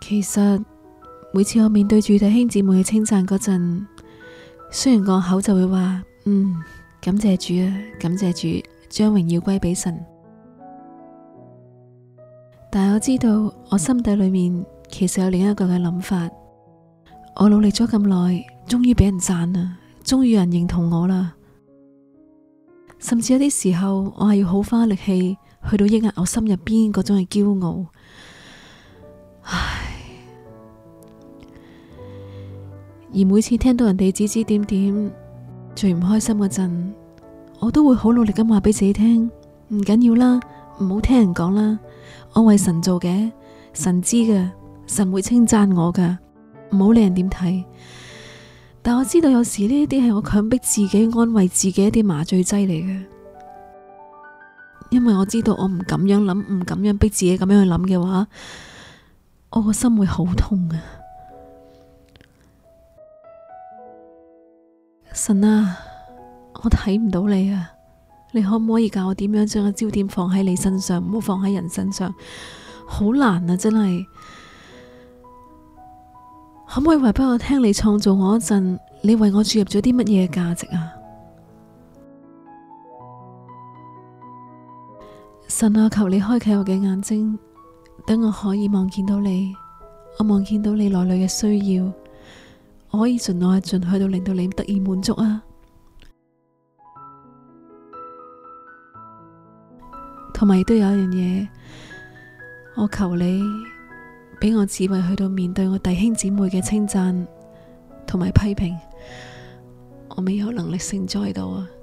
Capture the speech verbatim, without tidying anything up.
其實每次我面對住弟兄姊妹嘅稱讚嗰陣，雖然個口就會話嗯，感謝主啊，感謝主，將榮耀歸俾神，但係我知道我心底裏面其實有另一個嘅諗法。我努力咗咁耐，終於俾人讚啦，終於有人認同我啦。甚至有啲時候，我係要好花力氣去到抑壓我心入邊嗰種嘅驕傲。唉，而每次聽到人哋指指點點，最唔開心嗰陣，我都會好努力咁話俾自己聽，唔緊要啦，唔好聽人講啦，我為神做嘅，神知㗎，神會稱讚我㗎，唔好理人點睇。但我知道有時呢啲係我強迫自己安慰自己一啲麻醉劑嚟嘅，因為我知道我唔咁樣諗，唔咁樣逼自己咁樣去諗嘅話，我個心會好痛啊！神啊，我睇唔到你啊，你可唔可以教我點樣將個焦點放喺你身上，唔好放喺人身上？好難啊，真係。可唔可以話俾我聽，你創造我嗰陣，你為我注入咗啲乜嘢價值啊？神啊，求你開啟我嘅眼睛，等我可以望見到你，我望見到你內裏嘅需要，我可以盡我嘅盡去到令到你得以滿足啊！同埋亦都有一樣嘢，我求你俾我智慧去到面對我弟兄姊妹嘅稱讚同埋批評，我未有能力承載到啊！